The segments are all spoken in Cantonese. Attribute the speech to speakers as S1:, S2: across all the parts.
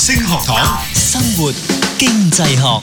S1: 星學堂，生活經濟學。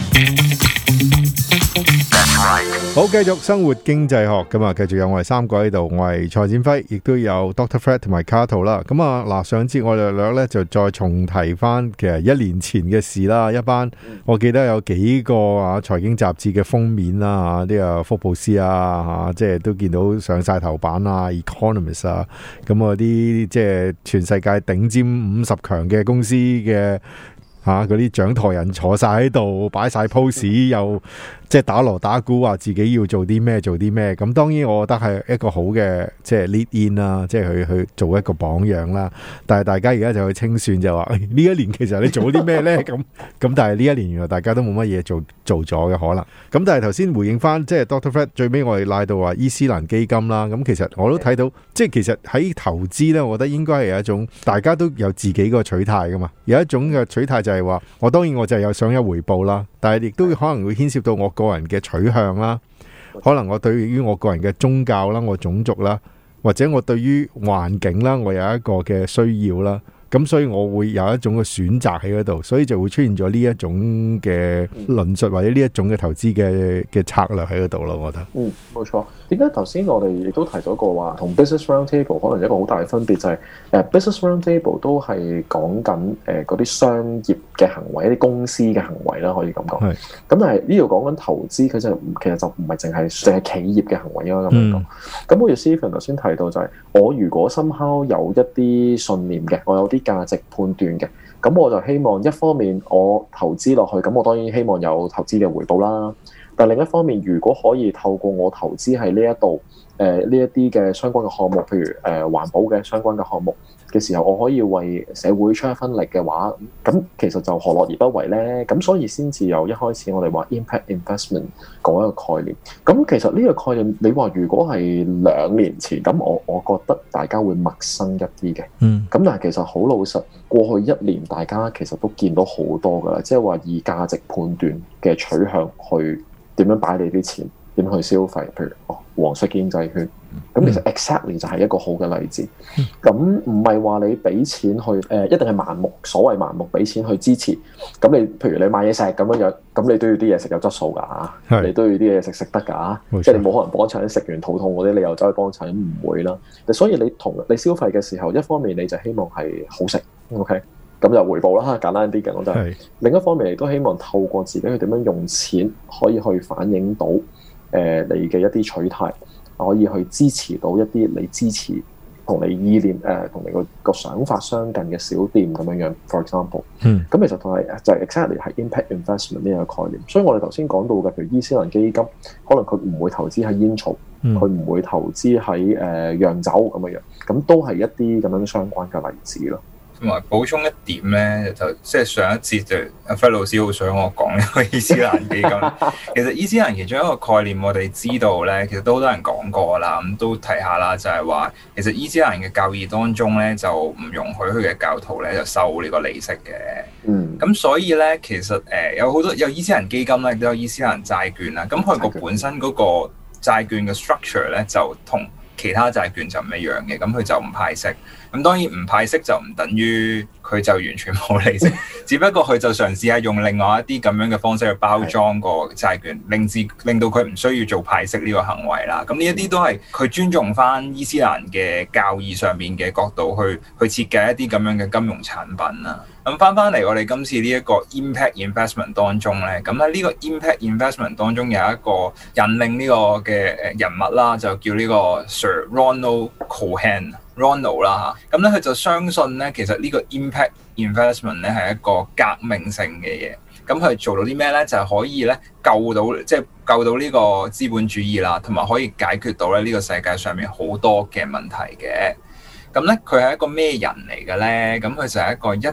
S2: 好，繼續生活經濟學咁啊，繼續有我哋三個喺度，我係蔡展輝，亦都有 Dr. Fred 同埋 Cato 啦。咁啊，嗱，上節我哋略咧就再重提翻其實1年前嘅事啦。一班我記得有幾個財經雜誌嘅封面啦，啲啊福布斯啊，即係都見到上晒頭版啊 Economist 啊，咁嗰啲即係全世界頂尖50強嘅公司嘅嗰啲掌舵人坐晒喺度，擺晒 pose， 又即係打鑼打鼓話自己要做啲咩做啲咩。咁當然我覺得係一個好嘅即係 lead in 啦，即係去做一個榜樣啦。但係大家而家就去清算就話呢一年其實你做咗啲咩呢？咁但係呢一年原來大家都冇乜嘢做咗嘅可能。咁但係頭先回應翻即係 Dr. Fred 最尾我哋拉到話伊斯蘭基金啦。咁其實我都睇到即係其實喺投資呢，我覺得應該係有一種大家都有自己個取態噶嘛。有一種嘅取態就係話我當然我就係有想有回報啦，但係亦都可能會牽涉到我個人嘅取向啦，可能我對於我個人嘅宗教啦、我種族啦，或者我對於環境啦，我有一個嘅需要啦，咁所以我會有一種嘅選擇喺嗰度，所以就會出現咗呢一種嘅論述或者呢一種嘅投資嘅策略喺嗰度咯，我覺得。
S3: 冇錯。點解頭先我哋亦都提到過話，同 Business Roundtable 可能一個好大嘅分別就係Business Roundtable 都係講緊嗰啲商業嘅行為，一啲公司嘅行為啦，可以咁講。咁但係呢度講緊投資，佢就其實就唔係淨係企業嘅行為咯咁樣講。咁好似 Stephen 頭先提到就係，我如果somehow有一啲信念嘅，我有啲價值判斷嘅，咁我就希望一方面我投資落去，咁我當然希望有投資嘅回報啦。但另一方面，如果可以透過我投資喺呢一度，呢一啲嘅相關嘅項目，譬如環保嘅相關嘅項目嘅時候，我可以為社會出一分力嘅話，咁其實就何樂而不為呢？咁所以先至有一開始我哋話 impact investment 嗰一個概念。咁其實呢個概念，你話如果係2年前，咁我覺得大家會陌生一啲嘅。咁但係其實好老實，過去1年大家其實都見到好多㗎啦，即係話以價值判斷嘅取向去點樣擺你啲錢，點樣去消費，譬如黃色經濟圈，咁其實 exactly 就係一個好嘅例子。咁唔係話你俾錢去一定係盲目，所謂盲目俾錢去支持。咁你譬如你買嘢食咁樣，咁你都要啲嘢食有質素㗎，你都要啲嘢食得㗎，即係你冇可能幫襯食完肚痛嗰啲，你又走去幫襯，唔會啦。所以你消費嘅時候，一方面你就希望係好食 ，OK。咁就回報啦，簡單啲嘅我就係。另一方面，亦都希望透過自己去點樣用錢，可以去反映到你嘅一啲取態，可以去支持到一啲你支持同你意念同你個想法相近嘅小店咁樣樣。For example，咁其實同係就係 exactly 係 impact investment 呢個概念。所以我哋頭先講到嘅，譬如伊斯蘭基金，可能佢唔會投資喺煙草，佢唔會投資喺洋酒咁樣樣，咁都係一啲咁樣相關嘅例子咯。
S4: 同埋補充一點咧，就即係上一節就阿輝老師好想我講呢個伊斯蘭基金。其實伊斯蘭其中一個概念，我哋知道咧，其實都好多人講過啦，咁都提下啦，就係話其實伊斯蘭嘅教義當中咧，就唔容許佢嘅教徒咧就收呢個利息嘅。咁所以咧，其實有好多有伊斯蘭基金咧，都有伊斯蘭債券啦。咁佢個本身嗰個債券嘅 structure 咧，就同其他債券就唔一樣嘅。咁佢就唔派息。咁當然唔派息就唔等於佢就完全冇利息，只不過佢就嘗試係用另外一啲咁樣嘅方式去包裝個債券，令到佢唔需要做派息呢個行為啦。咁呢一啲都係佢尊重翻伊斯蘭嘅教義上面嘅角度去設計一啲咁樣嘅金融產品啦。咁翻嚟我哋今次呢一個 impact investment 當中咧，咁喺呢個 impact investment 當中有一個引領呢個嘅人物啦，就叫呢個 Sir Ronald Cohen。Ronald 啦嚇，咁咧佢就相信咧，其實呢個 impact investment 咧係一個革命性嘅嘢。咁佢做到啲咩咧？就係可以咧救到呢個資本主義啦，同埋可以解決到咧呢個世界上面好多嘅問題嘅。咁咧佢係一個咩人嚟嘅咧？咁佢就係一個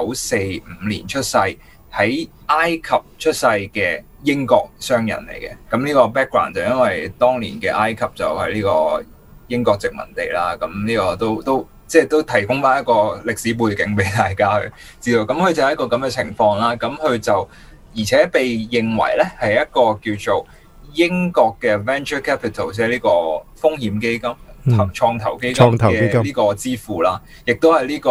S4: 1945年出世喺埃及出世嘅英國商人嚟嘅。咁呢個 background 就因為當年嘅埃及就係呢個英國殖民地啦，咁呢個都提供翻一個歷史背景俾大家去知道。咁佢就係一個咁嘅情況啦。咁佢就而且被認為咧係一個叫做英國嘅 venture capital， 即係呢個風險基金、創投基金嘅呢個之父啦，亦都係呢個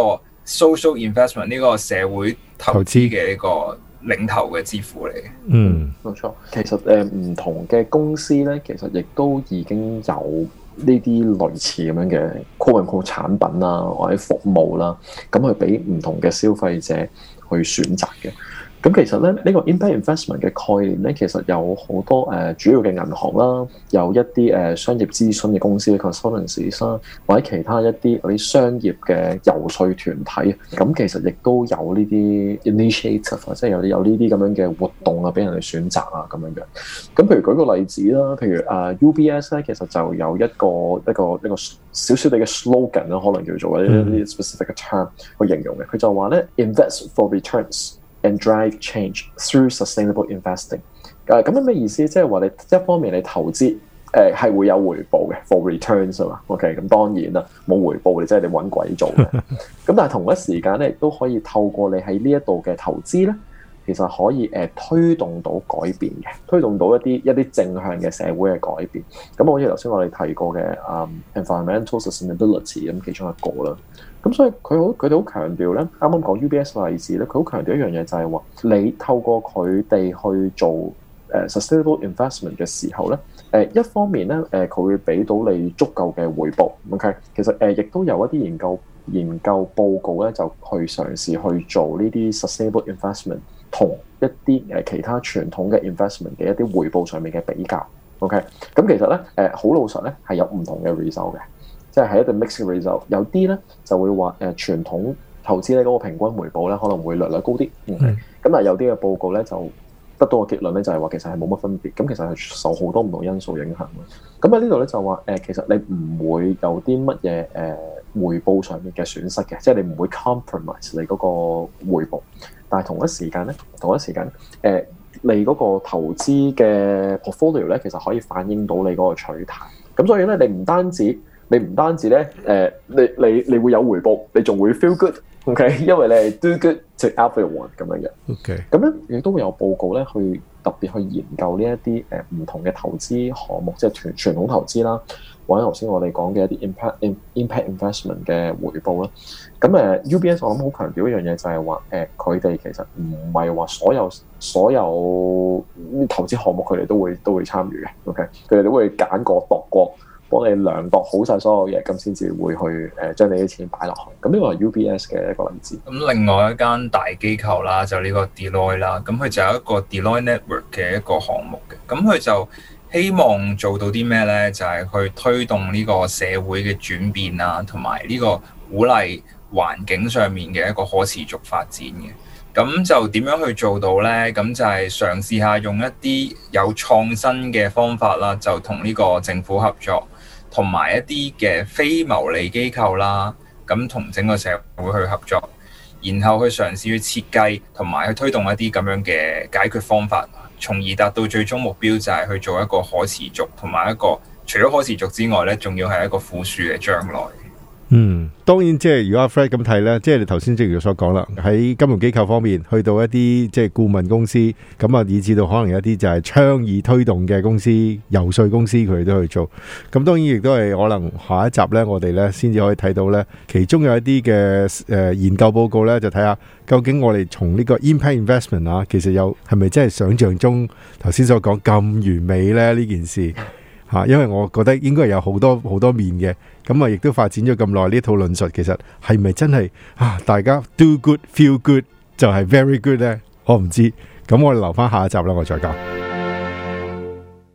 S4: social investment 呢個社會投資嘅呢個領頭嘅之父嚟嘅。
S3: 冇錯。其實唔同嘅公司咧，其實亦都已經有呢啲類似咁樣嘅 quote-unquote 產品啦，或者服務啦，咁去俾唔同嘅消費者去選擇嘅。咁其實咧，呢個 impact investment 嘅概念咧，其實有好多主要嘅銀行啦，有一啲商業諮詢嘅公司 consultancies 啦，或者其他一啲嗰啲商業嘅遊說團體，咁其實亦都有呢啲 initiative， 即係有呢啲咁樣嘅活動啊，俾人哋選擇啊咁樣嘅。咁譬如舉個例子啦，譬如UBS 咧，其實就有一個少少地嘅 slogan 啦，可能叫做一啲 specific 嘅 term 去形容嘅。佢就話咧 invest for returns，and drive change through sustainable investing。咁樣咩意思？即係話你一方面你投資係會有回報嘅 for returns 啊嘛。OK， 咁當然啦，冇回報你真係你揾鬼做嘅。咁但係同一時間咧，亦都可以透過你喺呢一度嘅投資咧，其實可以推動到改變嘅，推動到一啲正向嘅社會嘅改變。咁好似頭先我哋提過嘅environmental sustainability 咁其中一個啦。咁所以佢哋好強調咧，啱啱講 UBS 嘅例子咧，佢好強調一樣嘢就係話，你透過佢哋去做sustainable investment 嘅時候咧，一方面咧佢會俾到你足夠嘅回報 ，OK， 其實亦都有一啲研究報告咧，就去嘗試去做呢啲 sustainable investment 同一啲其他傳統嘅 investment 嘅一啲回報上面嘅比較 ，OK， 咁其實咧好老實咧係有唔同嘅 result 嘅。即係一個 mixed result，有啲咧就會話傳統投資咧嗰個平均回報咧可能會略高啲，咁但係有啲嘅報告咧就得到個結論咧就係話其實係冇乜分別，咁其實係受好多唔同因素影響嘅。咁喺呢度咧就話其實你唔會有啲乜嘢回報上面嘅損失嘅，即係你唔會 compromise 你嗰個回報，但係同一時間你嗰個投資嘅 portfolio 咧其實可以反映到你嗰個取態，咁所以咧你唔單止咧，你會有回報，你仲會 feel good，OK？ 因為你係 do good to everyone 咁樣嘅。OK。咁咧亦都會有報告咧，去特別去研究呢一啲唔同嘅投資項目，即係傳統投資啦，或者頭先我哋講嘅一啲 impact investment 嘅回報啦。咁UBS 我諗好強調一樣嘢就係話佢哋其實唔係話所有投資項目佢哋都會參與嘅。OK， 佢哋都會揀過度過。幫你量度好晒所有嘢，咁先至會去將你啲錢擺落去。咁呢個係 UBS 嘅一個例子。
S4: 咁另外一間大機構啦，就呢個 Deloitte 啦，咁佢就有一個 Deloitte Network 嘅一個項目嘅。咁佢就希望做到啲咩咧？就係去推動呢個社會嘅轉變啊，同埋呢個鼓勵環境上面嘅一個可持續發展嘅。咁就點樣去做到呢？咁就係嘗試下用一啲有創新嘅方法啦，就同呢個政府合作，同埋一啲嘅非牟利機構啦，咁同整個社會去合作，然後去嘗試去設計同埋去推動一啲咁樣嘅解決方法，從而達到最終目標就係去做一個可持續，同埋一個除咗可持續之外呢，仲要係一個富庶嘅將來。
S2: 當然即係如果阿 Fred 咁睇咧，即係你頭先正如所講啦，喺金融機構方面去到一啲即係顧問公司，咁啊以至到可能有一啲就係倡議推動嘅公司、游說公司，佢哋都去做。咁當然亦都係可能下一集咧，我哋咧先至可以睇到咧，其中有一啲嘅研究報告咧，就睇下究竟我哋從呢個 impact investment 啊，其實有係咪真係想象中頭先所講咁完美咧呢件事？因為我覺得應該有好多面嘅，咁啊亦都發展咗咁耐呢套論述，其實係咪真係大家 do good feel good 就係 very good 呢？我唔知，咁我哋留翻下一集啦，我再講。